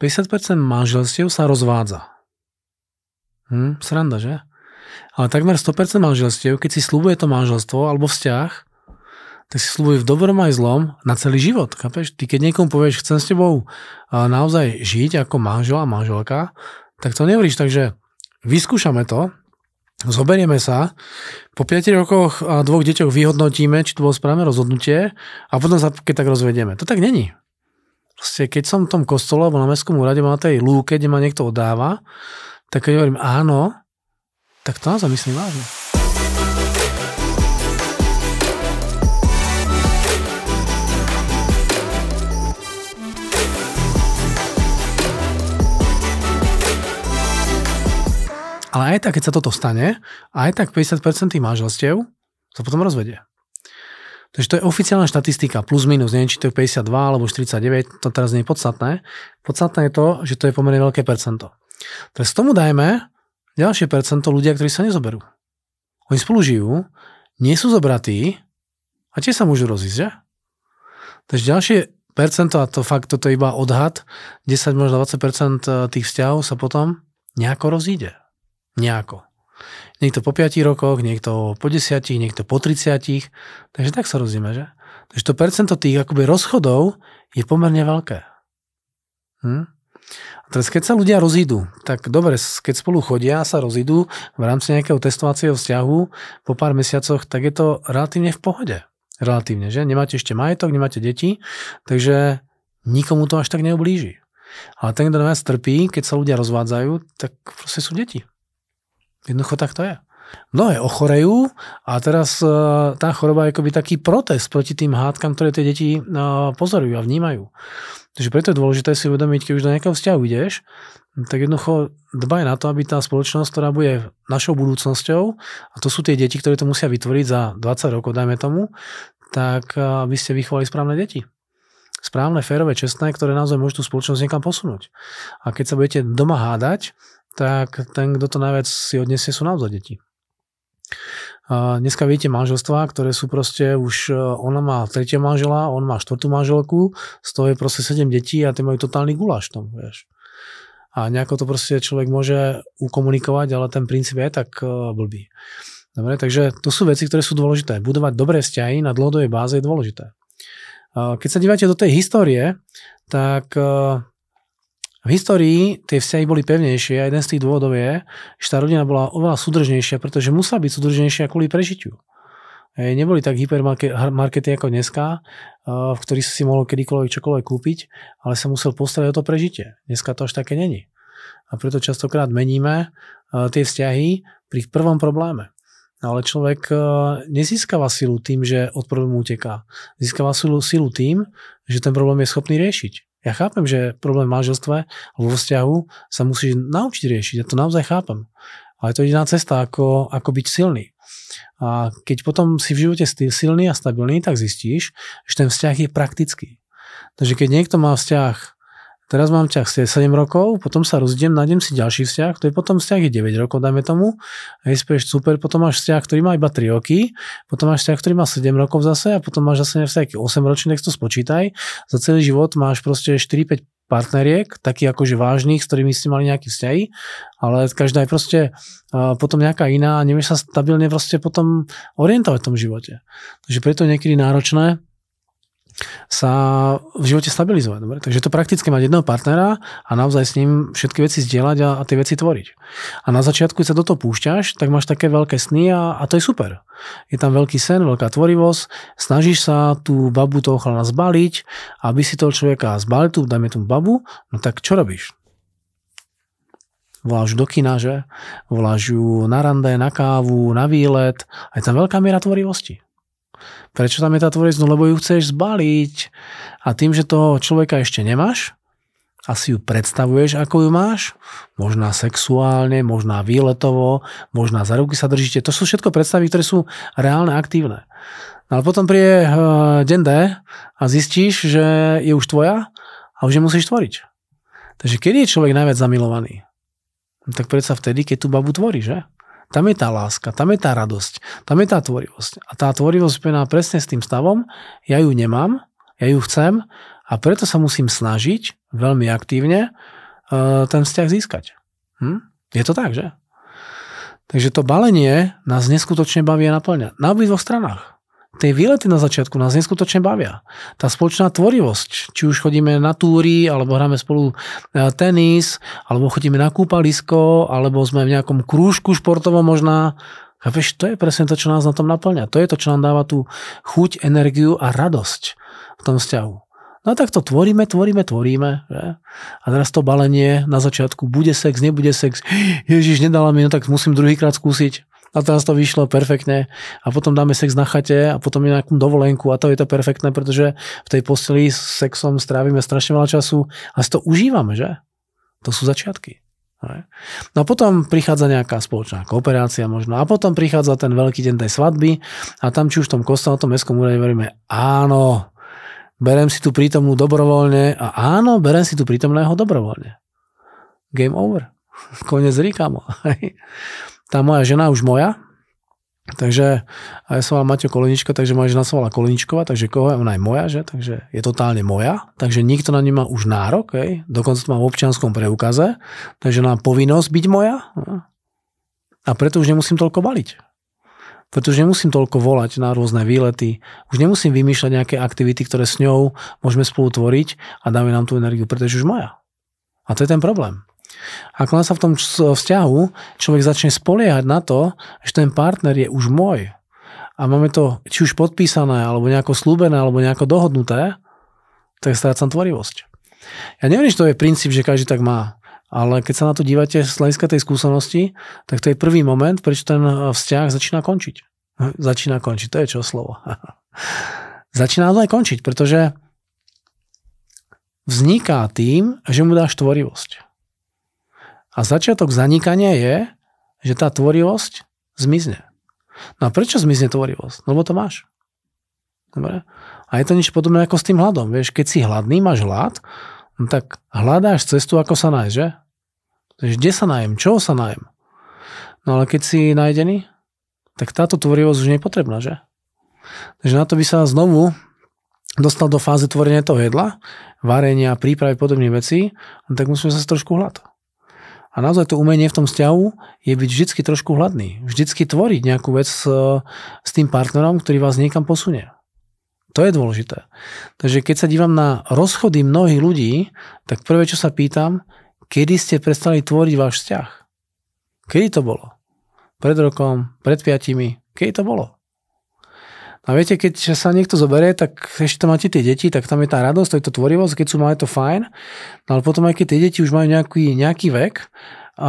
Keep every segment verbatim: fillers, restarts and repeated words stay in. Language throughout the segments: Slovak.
päťdesiat percent manželstiev sa rozvádza. Hm, sranda, že? Ale takmer sto percent manželstiev, keď si sľubuje to manželstvo alebo vzťah, tak si sľubuje v dobrom aj zlom na celý život. Chápeš? Ty keď niekomu povieš, chcem s tebou naozaj žiť ako manžel a manželka, tak to nehovoríš, takže vyskúšame to, zoberieme sa, po piatich rokoch a dvoch deťoch vyhodnotíme, či to bolo správne rozhodnutie a potom sa keď tak rozvedieme. To tak není. Proste, keď som v tom kostole alebo na mestskom úrade, na tej lúke, kde ma niekto oddáva, tak keď hovorím áno, tak to naozaj myslím vážne. Ale aj tak, keď sa toto stane, aj tak päťdesiat percent tých manželstiev sa potom rozvedie. Takže to je oficiálna štatistika, plus minus, neviem, či to je päťdesiatdva alebo štyridsaťdeväť, to teraz nie je podstatné. Podstatné je to, že to je pomerne veľké percento. Teraz tomu dajme ďalšie percento ľudia, ktorí sa nezoberú. Oni spolu žijú, nie sú zobratí a tiež sa môžu rozísť, že? Takže ďalšie percento, a to fakt, toto je iba odhad, desať možno dvadsať percent tých vzťahov sa potom nejako rozíde. Nejako. Niekto po piatich rokoch, niekto po desiatich, niekto po tridsiatich. Takže tak sa rozdieme, že? Takže to percento tých akoby rozchodov je pomerne veľké. Hm? A teraz keď sa ľudia rozídu, tak dobre, keď spolu chodia a sa rozídu v rámci nejakého testovacieho vzťahu po pár mesiacoch, tak je to relatívne v pohode. Relatívne, že? Nemáte ešte majetok, nemáte deti, takže nikomu to až tak neublíži. Ale ten, kto na vás trpí, keď sa ľudia rozvádzajú, tak proste sú deti. Jednoducho tak to je. Mnohé ochorejú a teraz tá choroba je akoby taký protest proti tým hádkam, ktoré tie deti pozorujú a vnímajú. Takže preto je dôležité si uvedomiť, keď už do nejakého vzťahu ideš, tak jednoducho dbaj na to, aby tá spoločnosť, ktorá bude našou budúcnosťou, a to sú tie deti, ktoré to musia vytvoriť za dvadsať rokov, dajme tomu, tak aby ste vychovali správne deti. Správne, férové, čestné, ktoré naozaj môžu tú spoločnosť niekam posunúť. A keď sa budete doma hádať, tak ten, kto to najviac si odniesie, sú naozaj deti. A dneska vidíte manželstvá, ktoré sú proste už, ona má tretieho manžela, on má štvrtú manželku, z toho je proste sedem detí a tie majú totálny guláš tom, vieš. A nejako to proste človek môže ukomunikovať, ale ten princíp je tak blbý. Dobre, takže to sú veci, ktoré sú dôležité. Budovať dobré vzťahy na dlhodobej báze je dôležité. Keď sa dívate do tej histórie, tak v histórii tie vzťahy boli pevnejšie a jeden z tých dôvodov je, že tá rodina bola oveľa súdržnejšia, pretože musela byť súdržnejšia kvôli prežitiu. Neboli tak hypermarkety ako dneska, v ktorých si mohol kedykoľvek čokoľvek kúpiť, ale sa musel postarať o to prežitie. Dneska to až také není. A preto častokrát meníme tie vzťahy pri prvom probléme. Ale človek nezískava silu tým, že od problému uteká. Získava silu, silu tým, že ten problém je schopný riešiť. Ja chápem, že problém v manželstve alebo vo vzťahu sa musíš naučiť riešiť. Ja to naozaj chápem. Ale to je jediná cesta, ako, ako byť silný. A keď potom si v živote silný a stabilný, tak zistíš, že ten vzťah je praktický. Takže keď niekto má vzťah, teraz mám vzťah sedem rokov, potom sa rozdiem, nájdem si ďalší vzťah, to je potom vzťah je deväť rokov, dajme tomu, a je spieš super, potom máš vzťah, ktorý má iba tri roky, potom máš vzťah, ktorý má sedem rokov zase a potom máš zase vzťah osem ročný, tak to spočítaj. Za celý život máš proste štyri päť partneriek, takých akože vážnych, s ktorými ste mali nejaké vzťahy, ale každá je proste uh, potom nejaká iná a nevieš sa stabilne proste potom orientovať v tom živote. Takže preto je niekedy náročné sa v živote stabilizovať. Dobre? Takže je to prakticky mať jedného partnera a naozaj s ním všetky veci zdieľať a, a tie veci tvoriť. A na začiatku, keď sa do toho púšťaš, tak máš také veľké sny a, a to je super. Je tam veľký sen, veľká tvorivosť, snažíš sa tú babu toho chlana zbaliť, aby si toho človeka zbalil, tú, dajme tú babu, no tak čo robíš? Voláš do kina, že? Voláš ju na rande, na kávu, na výlet a je tam veľká miera tvorivosti. Prečo tam je tá tvorivosť? No lebo ju chceš zbaliť a tým, že toho človeka ešte nemáš a si ju predstavuješ, ako ju máš, možná sexuálne, možná výletovo, možná za ruky sa držíte, to sú všetko predstavy, ktoré sú reálne, aktívne. No ale potom príde uh, deň D a zistíš, že je už tvoja a už je musíš tvoriť. Takže kedy je človek najviac zamilovaný? No, tak predsa vtedy, keď tú babu tvorí, že? Tam je tá láska, tam je tá radosť, tam je tá tvorivosť. A tá tvorivosť spojená presne s tým stavom, ja ju nemám, ja ju chcem a A preto sa musím snažiť veľmi aktívne uh, ten vzťah získať. Hm? Je to tak, že? Takže to balenie nás neskutočne baví a naplňa. Na obidvoch stranách. Tie výlety na začiatku nás neskutočne bavia. Tá spoločná tvorivosť, či už chodíme na túry, alebo hráme spolu tenis, alebo chodíme na kúpalisko, alebo sme v nejakom krúžku športovom možná. Chápeš, to je presne to, čo nás na tom naplňa. To je to, čo nám dáva tú chuť, energiu a radosť v tom vzťahu. No tak to tvoríme, tvoríme, tvoríme. Že? A teraz to balenie na začiatku, bude sex, nebude sex. Ježiš, nedala mi, no tak musím druhýkrát skúsiť. A teraz to vyšlo perfektne a potom dáme sex na chate a potom je nejakú dovolenku a to je to perfektné, pretože v tej posteli s sexom strávime strašne veľa času a si to užívame, že? To sú začiatky. No a potom prichádza nejaká spoločná kooperácia možno a potom prichádza ten veľký deň tej svadby a tam či už v tom kostole, v tom mestskom úrade veríme, áno, berem si tu prítomnú dobrovoľne a áno, berem si tu prítomného dobrovoľne. Game over. Konec ríkamo. Tá moja žena už moja, takže a ja som vám Maťo Koleničko, takže moja žena sa volá Koleničková, takže koho je, ona je moja, že? Takže je totálne moja, takže nikto na ňu má už nárok, hej? Dokonca to má v občianskom preukaze, takže mám povinnosť byť moja a preto už nemusím toľko baliť. Preto už nemusím toľko volať na rôzne výlety, už nemusím vymýšľať nejaké aktivity, ktoré s ňou môžeme spolu tvoriť a dáme nám tú energiu, pretože už moja. A to je ten problém. Ako len sa v tom vzťahu človek začne spoliehať na to, že ten partner je už môj a máme to či už podpísané, alebo nejako slúbené, alebo nejako dohodnuté, tak strácam tvorivosť. Ja neviem, že to je princíp, že každý tak má, ale keď sa na to dívate z hľadiska tej skúsenosti, tak to je prvý moment, prečo ten vzťah začína končiť. Začína končiť, to je čo slovo. Začína to aj končiť, pretože vzniká tým, že mu dáš tvorivosť. A začiatok zanikania je, že tá tvorivosť zmizne. No a prečo zmizne tvorivosť? No lebo to máš. Dobre? A je to niečo podobné ako s tým hladom. Vieš, keď si hladný, máš hlad, no tak hľadáš cestu, ako sa nájsť, že? Takže kde sa nájem? Čoho sa nájem? No ale keď si nájdený, tak táto tvorivosť už nie je potrebná, že? Takže na to by sa znovu dostal do fázy tvorenia toho jedla, varenia, prípravy podobných vecí, no tak musíme sa trošku hlad. A naozaj to umenie v tom vzťahu je byť vždycky trošku hladný. Vždycky tvoriť nejakú vec s, s tým partnerom, ktorý vás niekam posunie. To je dôležité. Takže keď sa dívam na rozchody mnohých ľudí, tak prvé, čo sa pýtam, kedy ste prestali tvoriť váš vzťah? Kedy to bolo? Pred rokom? Pred piatimi? Kedy to bolo? A viete, keď sa niekto zoberie, tak ešte tam máte tie deti, tak tam je tá radosť, to je to tvorivosť, keď sú malé, to fajn, no ale potom aj keď tie deti už majú nejaký, nejaký vek a, a,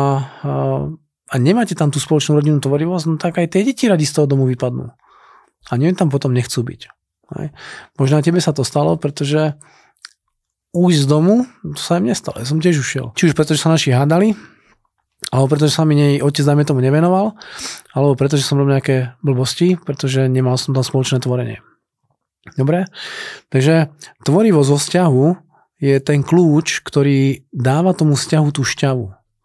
a nemáte tam tú spoločnú rodinnú tvorivosť, no tak aj tie deti radi z toho domu vypadnú. A nie tam potom nechcú byť. Hej. Možno aj tebe sa to stalo, pretože ujsť z domu, to sa im nestalo, ja som tiež ušiel. Či už pretože sa naši hádali, alebo pretože sa mi nej otec dajme tomu nevenoval, alebo pretože som robil nejaké blbosti, pretože nemal som tam spoločné tvorenie. Dobre? Takže tvorivosť vo vzťahu je ten kľúč, ktorý dáva tomu vzťahu tú šťavu.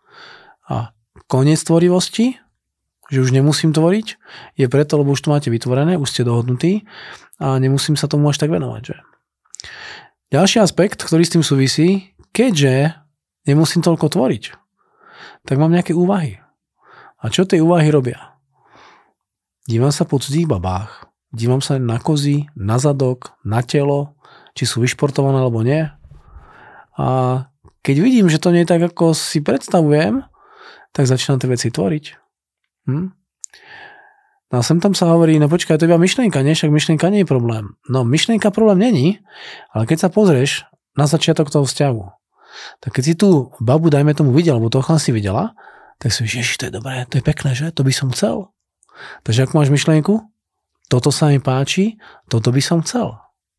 A koniec tvorivosti, že už nemusím tvoriť, je preto, lebo už to máte vytvorené, už ste dohodnutí a nemusím sa tomu až tak venovať. Že? Ďalší aspekt, ktorý s tým súvisí, keďže nemusím toľko tvoriť, tak mám nejaké úvahy. A čo tie úvahy robia? Dívam sa po cudzích babách, dívam sa na kozy, na zadok, na telo, či sú vyšportované alebo nie. A keď vidím, že to nie je tak, ako si predstavujem, tak začínam tie veci tvoriť. Hm? No a sem tam sa hovorí, no počkaj, to je iba myšlienka, nie? Však myšlienka nie je problém. No myšlienka problém není, ale keď sa pozrieš na začiatok toho vzťahu, tak keď si tú babu, dajme tomu, videl, alebo toho si videla, tak si vieš, ježiš, to je dobré, to je pekné, že? To by som chcel. Takže ako máš myšlienku? Toto sa mi páči, toto by som chcel.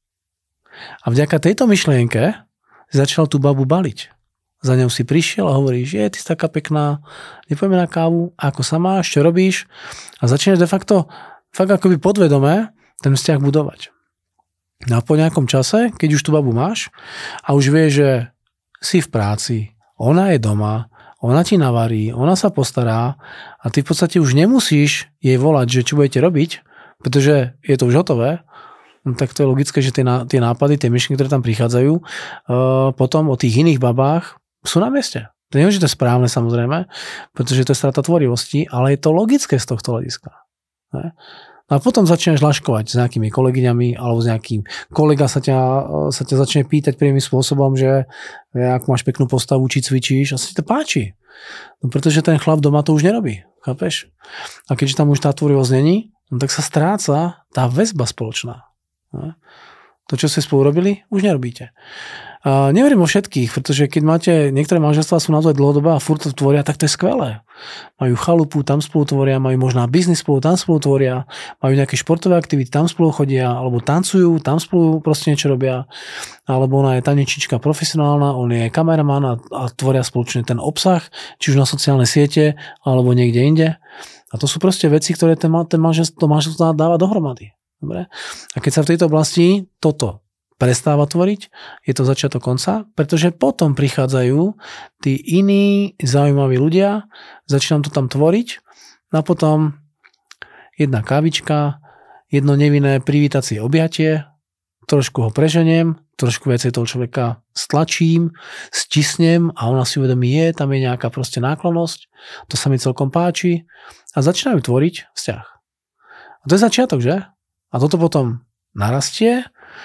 A vďaka tejto myšlienke si začal tú babu baliť. Za ňou si prišiel a hovoríš, je, ty si taká pekná, nepojme na kávu, ako sa máš, čo robíš? A začneš de facto, fakt akoby podvedome, ten vzťah budovať. No a po nejakom čase, keď už tú babu máš a už vieš, že si v práci, ona je doma, ona ti navarí, ona sa postará a ty v podstate už nemusíš jej volať, že čo budete robiť, pretože je to už hotové, no tak to je logické, že tie, tie nápady, tie myšlienky, ktoré tam prichádzajú, uh, potom o tých iných babách sú na mieste. To nie je, že to je správne samozrejme, pretože to je strata tvorivosti, ale je to logické z tohto hľadiska. Ne? A potom začneš laškovať s nejakými kolegyňami alebo s nejakým kolega sa ťa, sa ťa začne pýtať priamým spôsobom, že ak máš peknú postavu, či cvičíš, a sa ti to páči. No pretože ten chlap doma to už nerobí. Chápeš? A keďže tam už tá tvorivosť není, no tak sa stráca tá väzba spoločná. Ne? To, čo ste spolu robili, už nerobíte. A neverím o všetkých, pretože keď máte, niektoré manželstvá sú naozaj dlhodobé a furt to tvoria, tak to je skvelé. Majú chalupu, tam spolu tvoria, majú možná biznis spolu, tam spolu tvoria, majú nejaké športové aktivity, tam spolu chodia, alebo tancujú, tam spolu proste niečo robia, alebo ona je tanečnička profesionálna, on je kameraman a, a tvoria spoločne ten obsah, či už na sociálne siete, alebo niekde inde. A to sú proste veci, ktoré ten, ten manželstvo, manželstvo dáva dohromady. Dobre? A keď sa v tejto oblasti toto prestáva tvoriť, je to začiatok konca, pretože potom prichádzajú tí iní zaujímaví ľudia, začínam to tam tvoriť a potom jedna kávička, jedno nevinné privítacie objatie, trošku ho preženiem, trošku viacej toho človeka stlačím, stisnem a ona si uvedomí, je, tam je nejaká proste náklonnosť, to sa mi celkom páči a začínajú tvoriť vzťah. A to je začiatok, že? A toto potom narastie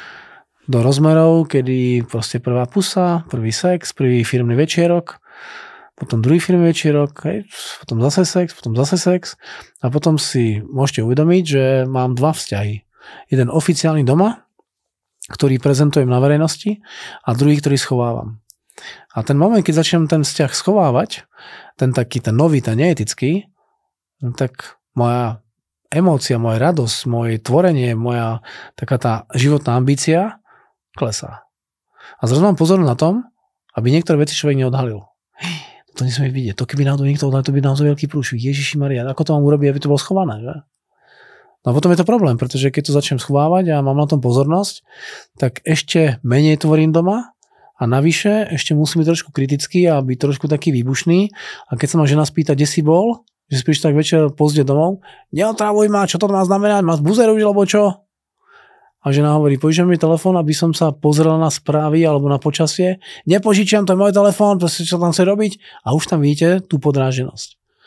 do rozmerov, kedy proste prvá pusa, prvý sex, prvý firmný večierok, potom druhý firmný večierok, hej, potom zase sex, potom zase sex a potom si môžete uvedomiť, že mám dva vzťahy. Jeden oficiálny doma, ktorý prezentujem na verejnosti a druhý, ktorý schovávam. A ten moment, keď začnem ten vzťah schovávať, ten taký, ten nový, ten neetický, no tak moja emócia, moja radosť, moje tvorenie, moja taká tá životná ambícia klesá. A zrazu mám pozor na tom, aby niektoré veci človek neodhalil. To nesmie vidieť. To keby náhodou niekto odhalil, to by naozaj veľký prúšvik. Ježiši Maria, ako to mám urobiť, aby to bolo schované, že? No a potom je to problém, pretože keď to začnem schovávať a mám na tom pozornosť, tak ešte menej tvorím doma a navyše ešte musím byť trošku kritický a byť trošku taký výbušný. A keď sa ma žena spýta, kde si bol, že spíš tak večer pozde domov, neotrávuj ma, čo to má znamenať, ma zbuzeruj, alebo čo? A žena hovorí, požičam mi telefón, aby som sa pozrel na správy alebo na počasie. Nepožičiam, to je môj telefón, proste čo tam chce robiť. A už tam vidíte tú podráženosť.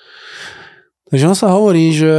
Takže on sa hovorí, že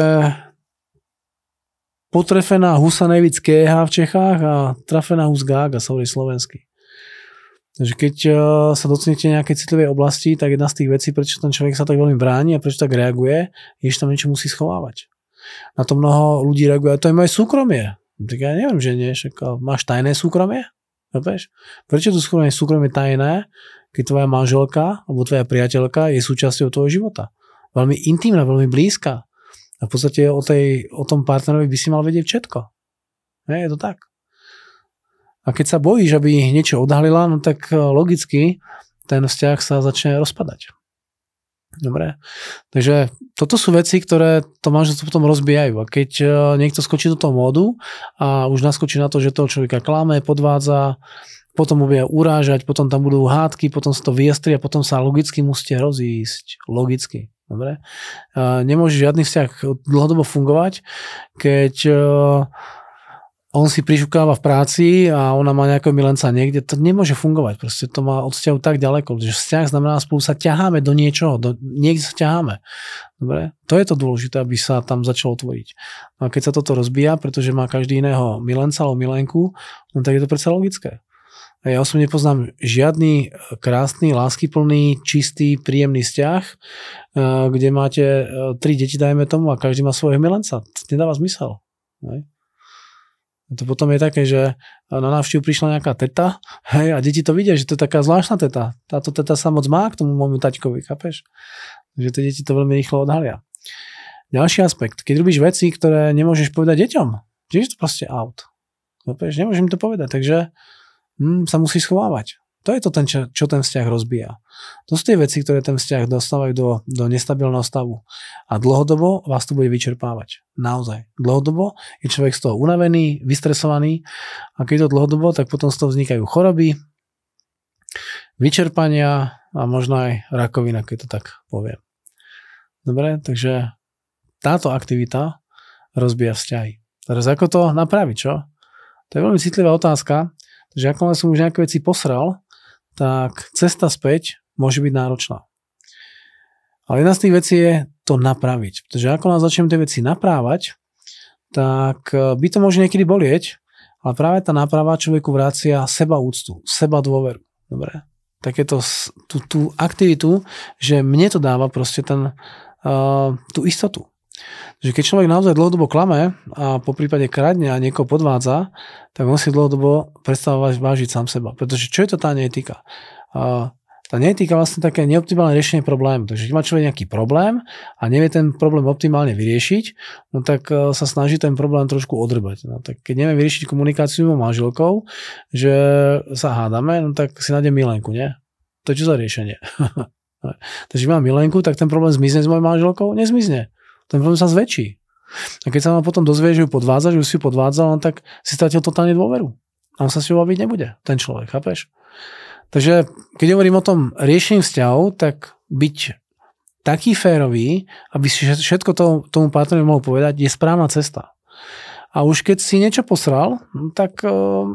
potrefená husa nejvíc kéha v Čechách a trafená hus gága, sa hovorí slovensky. Takže keď sa dotknete nejakej citlivej oblasti, tak jedna z tých vecí, prečo ten človek sa tak veľmi bráni a prečo tak reaguje, je, že tam niečo musí schovávať. Na to mnoho ľudí reaguje, a to je moje súkromie. Tak ja neviem, že nie, však máš tajné súkromie? Chápeš? Prečo to súkromie, súkromie tajné, keď tvoja manželka alebo tvoja priateľka je súčasťou tvojho života? Veľmi intimná, veľmi blízka. A v podstate o, tej, o tom partnerovi by si mal vedieť všetko. Nie, je to tak. A keď sa bojíš, aby niečo odhalila, no tak logicky ten vzťah sa začne rozpadať. Dobre. Takže toto sú veci, ktoré to manželstvo potom rozbijajú. A keď niekto skočí do toho módu a už naskočí na to, že toho človeka klame, podvádza, potom ho bude urážať, potom tam budú hádky, potom sa to vyjastri a potom sa logicky musíte rozísť. Logicky. Dobre. A nemôže žiadny vzťah dlhodobo fungovať, keď on si prižukáva v práci a ona má nejakého milenca niekde, to nemôže fungovať. Proste to má od vzťahu tak ďaleko, že vzťah znamená, spolu sa ťaháme do niečoho, do, niekde sa ťaháme. Dobre? To je to dôležité, aby sa tam začalo tvoriť. A keď sa toto rozbíja, pretože má každý iného milenca alebo milenku, no tak je to predsa logické. A ja osobne poznám žiadny krásny, láskyplný, čistý, príjemný vzťah, kde máte tri deti, dajme tomu, a každý má svojho milenca. To nedáva zmysel. Ne? To potom je také, že na návštevu prišla nejaká teta, hej, a deti to vidia, že to je taká zvláštna teta. Táto teta sa moc má k tomu môjmu taťkovi, chápeš? Že tie deti to veľmi rýchlo odhalia. Ďalší aspekt, keď robíš veci, ktoré nemôžeš povedať deťom, tiež to proste out. Chápeš? Nemôžem to povedať, takže hm, sa musíš schovávať. To je to, ten, čo, čo ten vzťah rozbíja. To sú tie veci, ktoré ten vzťah dostávajú do, do nestabilného stavu. A dlhodobo vás to bude vyčerpávať. Naozaj. Dlhodobo je človek z toho unavený, vystresovaný a keď to dlhodobo, tak potom z toho vznikajú choroby, vyčerpania a možno aj rakovina, keď to tak poviem. Dobre, takže táto aktivita rozbíja vzťahy. Teraz ako to napraviť, čo? To je veľmi citlivá otázka, že ako som už nejaké veci posral, tak cesta späť môže byť náročná. Ale jedna z tých vecí je to napraviť. Pretože ako nás začneme tie veci naprávať, tak by to môže niekedy bolieť, ale práve tá náprava človeku vracia seba úctu, seba dôveru. Dobre? Takéto tú, tú aktivitu, že mne to dáva proste ten, uh, tú istotu. Že keď človek naozaj dlhodobo klame a po prípade kradne a niekoho podvádza, tak on si dlhodobo prestáva vážiť sám seba. Pretože čo je to tá neetika? Uh, Tá neetika vlastne také neoptimálne riešenie problému. Takže keď má človek nejaký problém a nevie ten problém optimálne vyriešiť, no tak sa snaží ten problém trošku odrbať. No tak keď nevie vyriešiť komunikáciu s manželkou, že sa hádame, no tak si nájde milenku, nie? To je čo za riešenie? Takže keď mám milenku, tak ten problém zmizne s mojou manželkou? Nezmizne. Ten problém sa zväčší. A keď sa vám potom dozvie, že ju podvádza, že ju si ju podvádzal, no tak si stratil totálne dôveru. A on sa s ňou baviť nebude, ten človek, chápeš? Takže keď hovorím o tom riešení vzťahov, tak byť taký férový, aby si všetko to, tomu partnerovi mohol povedať, je správna cesta. A už keď si niečo posral, tak uh,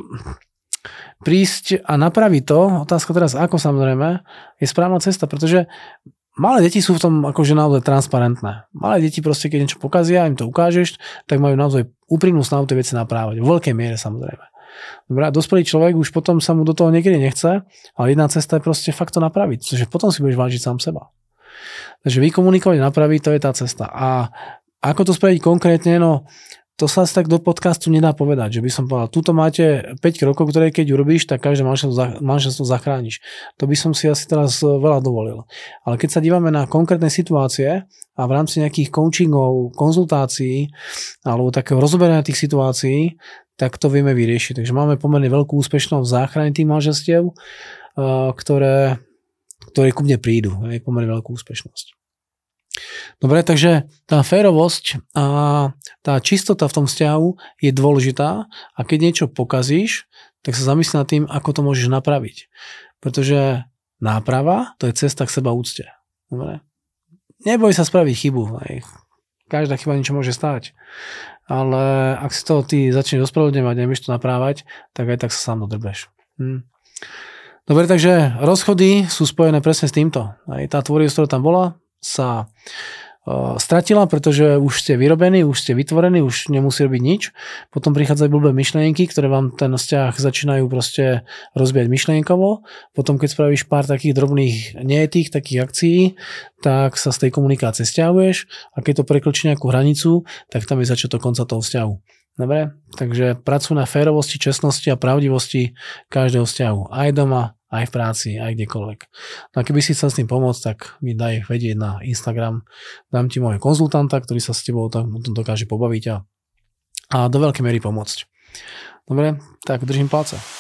prísť a napraviť to, otázka teraz ako samozrejme, je správna cesta, pretože malé deti sú v tom akože naozaj transparentné. Malé deti proste, keď niečo pokazia, im to ukážeš, tak majú naozaj úprimnú snahu tie veci naprávať. V veľkej miere samozrejme. Dobre, a dospelý človek už potom sa mu do toho niekedy nechce, ale jedna cesta je proste fakt to napraviť, pretože potom si budeš vážiť sám seba. Takže vykomunikovať, napraviť, to je tá cesta. A ako to spraviť konkrétne, no to sa asi tak do podcastu nedá povedať, že by som povedal, tuto máte päť krokov, ktoré keď urobíš, tak každé manželstvo zachrániš. To by som si asi teraz veľa dovolil. Ale keď sa dívame na konkrétne situácie a v rámci nejakých coachingov, konzultácií alebo takého rozoberania tých situácií, tak to vieme vyriešiť. Takže máme pomerne veľkú úspešnosť v záchrane tých manželstiev, ktoré, ktoré ku mne prídu. Je pomerne veľkú úspešnosť. Dobre, takže tá férovosť a tá čistota v tom vzťahu je dôležitá a keď niečo pokazíš, tak sa zamyslí nad tým, ako to môžeš napraviť. Pretože náprava, to je cesta k seba úcte. Dobre? Neboj sa spraviť chybu. Každá chyba niečo môže stáť. Ale ak si to ty začneš ospravedlňovať a nebudeš to naprávať, tak aj tak sa sám dodrbeš. Hm. Dobre, takže rozchody sú spojené presne s týmto. Aj tá tvorivosť, ktorá tam bola, sa uh, stratila, pretože už ste vyrobení, už ste vytvorení, už nemusí robiť nič. Potom prichádzajú blbé myšlienky, ktoré vám ten vzťah začínajú proste rozbiať myšlienkovo. Potom, keď spravíš pár takých drobných neetík, takých akcií, tak sa z tej komunikácie stiahuješ a keď to prekročí nejakú hranicu, tak tam je začiatok konca toho vzťahu. Dobre? Takže pracuj na férovosti, čestnosti a pravdivosti každého vzťahu. Aj doma, aj v práci, aj kdekoľvek. No a keby si chcel s tým pomôcť, tak mi daj vedieť na Instagram. Dám ti môjho konzultanta, ktorý sa s tebou tam dokáže pobaviť a, a do veľkej miery pomôcť. Dobre, tak držím palce.